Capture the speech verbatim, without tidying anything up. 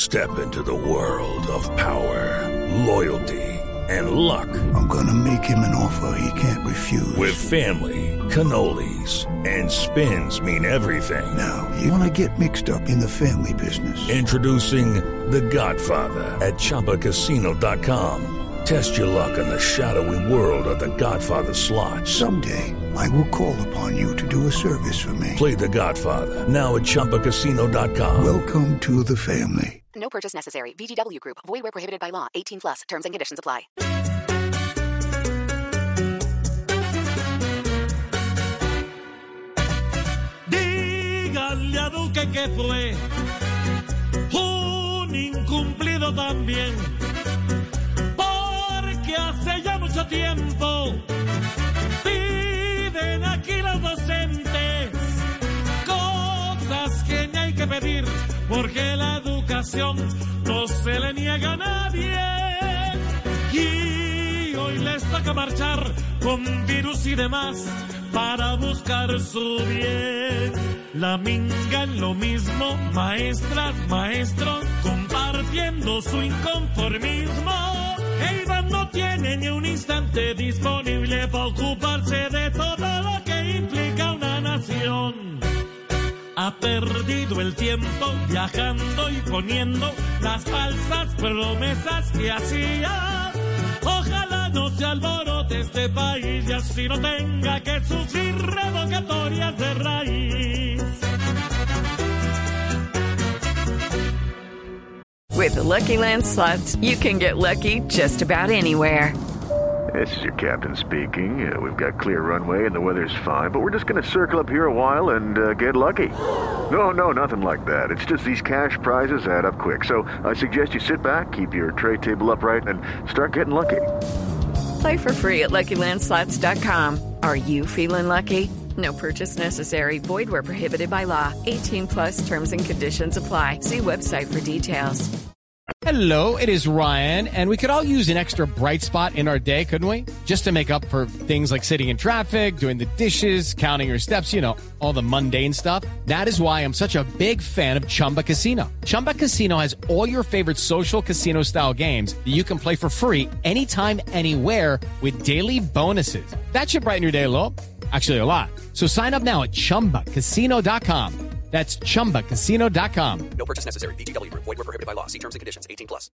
Step into the world of power, loyalty, and luck. I'm gonna make him an offer he can't refuse. With family, cannolis, and spins mean everything. Now, you wanna get mixed up in the family business. Introducing The Godfather at Chumba Casino dot com. Test your luck in the shadowy world of The Godfather slot. Someday, I will call upon you to do a service for me. Play The Godfather now at Chumba Casino dot com. Welcome to the family. No purchase necessary. V G W Group. Void where prohibited by law. eighteen plus. Terms and conditions apply. Dígale a Duque que fue un incumplido también, porque hace ya mucho tiempo piden aquí los docentes cosas que ni hay que pedir, porque la educación no se le niega a nadie. Y hoy les toca marchar con virus y demás para buscar su bien. La minga en lo mismo, maestras, maestros, compartiendo su inconformismo. El Iván no tiene ni un instante disponible para ocuparse de todo lo que implica una nación. Ha perdido el tiempo viajando y poniendo las falsas promesas que hacía. Ojalá no se alborote este país y así no tenga que sufrir revocatorias de raíz. With the Lucky Land Slots, you can get lucky just about anywhere. This is your captain speaking. Uh, we've got clear runway and the weather's fine, but we're just going to circle up here a while and uh, get lucky. No, no, nothing like that. It's just these cash prizes add up quick. So I suggest you sit back, keep your tray table upright, and start getting lucky. Play for free at Lucky Land Slots dot com. Are you feeling lucky? No purchase necessary. Void where prohibited by law. eighteen plus terms and conditions apply. See website for details. Hello, it is Ryan, and we could all use an extra bright spot in our day, couldn't we? Just to make up for things like sitting in traffic, doing the dishes, counting your steps, you know, all the mundane stuff. That is why I'm such a big fan of Chumba Casino. Chumba Casino has all your favorite social casino-style games that you can play for free anytime, anywhere with daily bonuses. That should brighten your day a little. Actually, a lot. So sign up now at Chumba Casino dot com. That's Chumba Casino dot com. No purchase necessary. V G W Group. Void where prohibited by law. See terms and conditions. eighteen plus.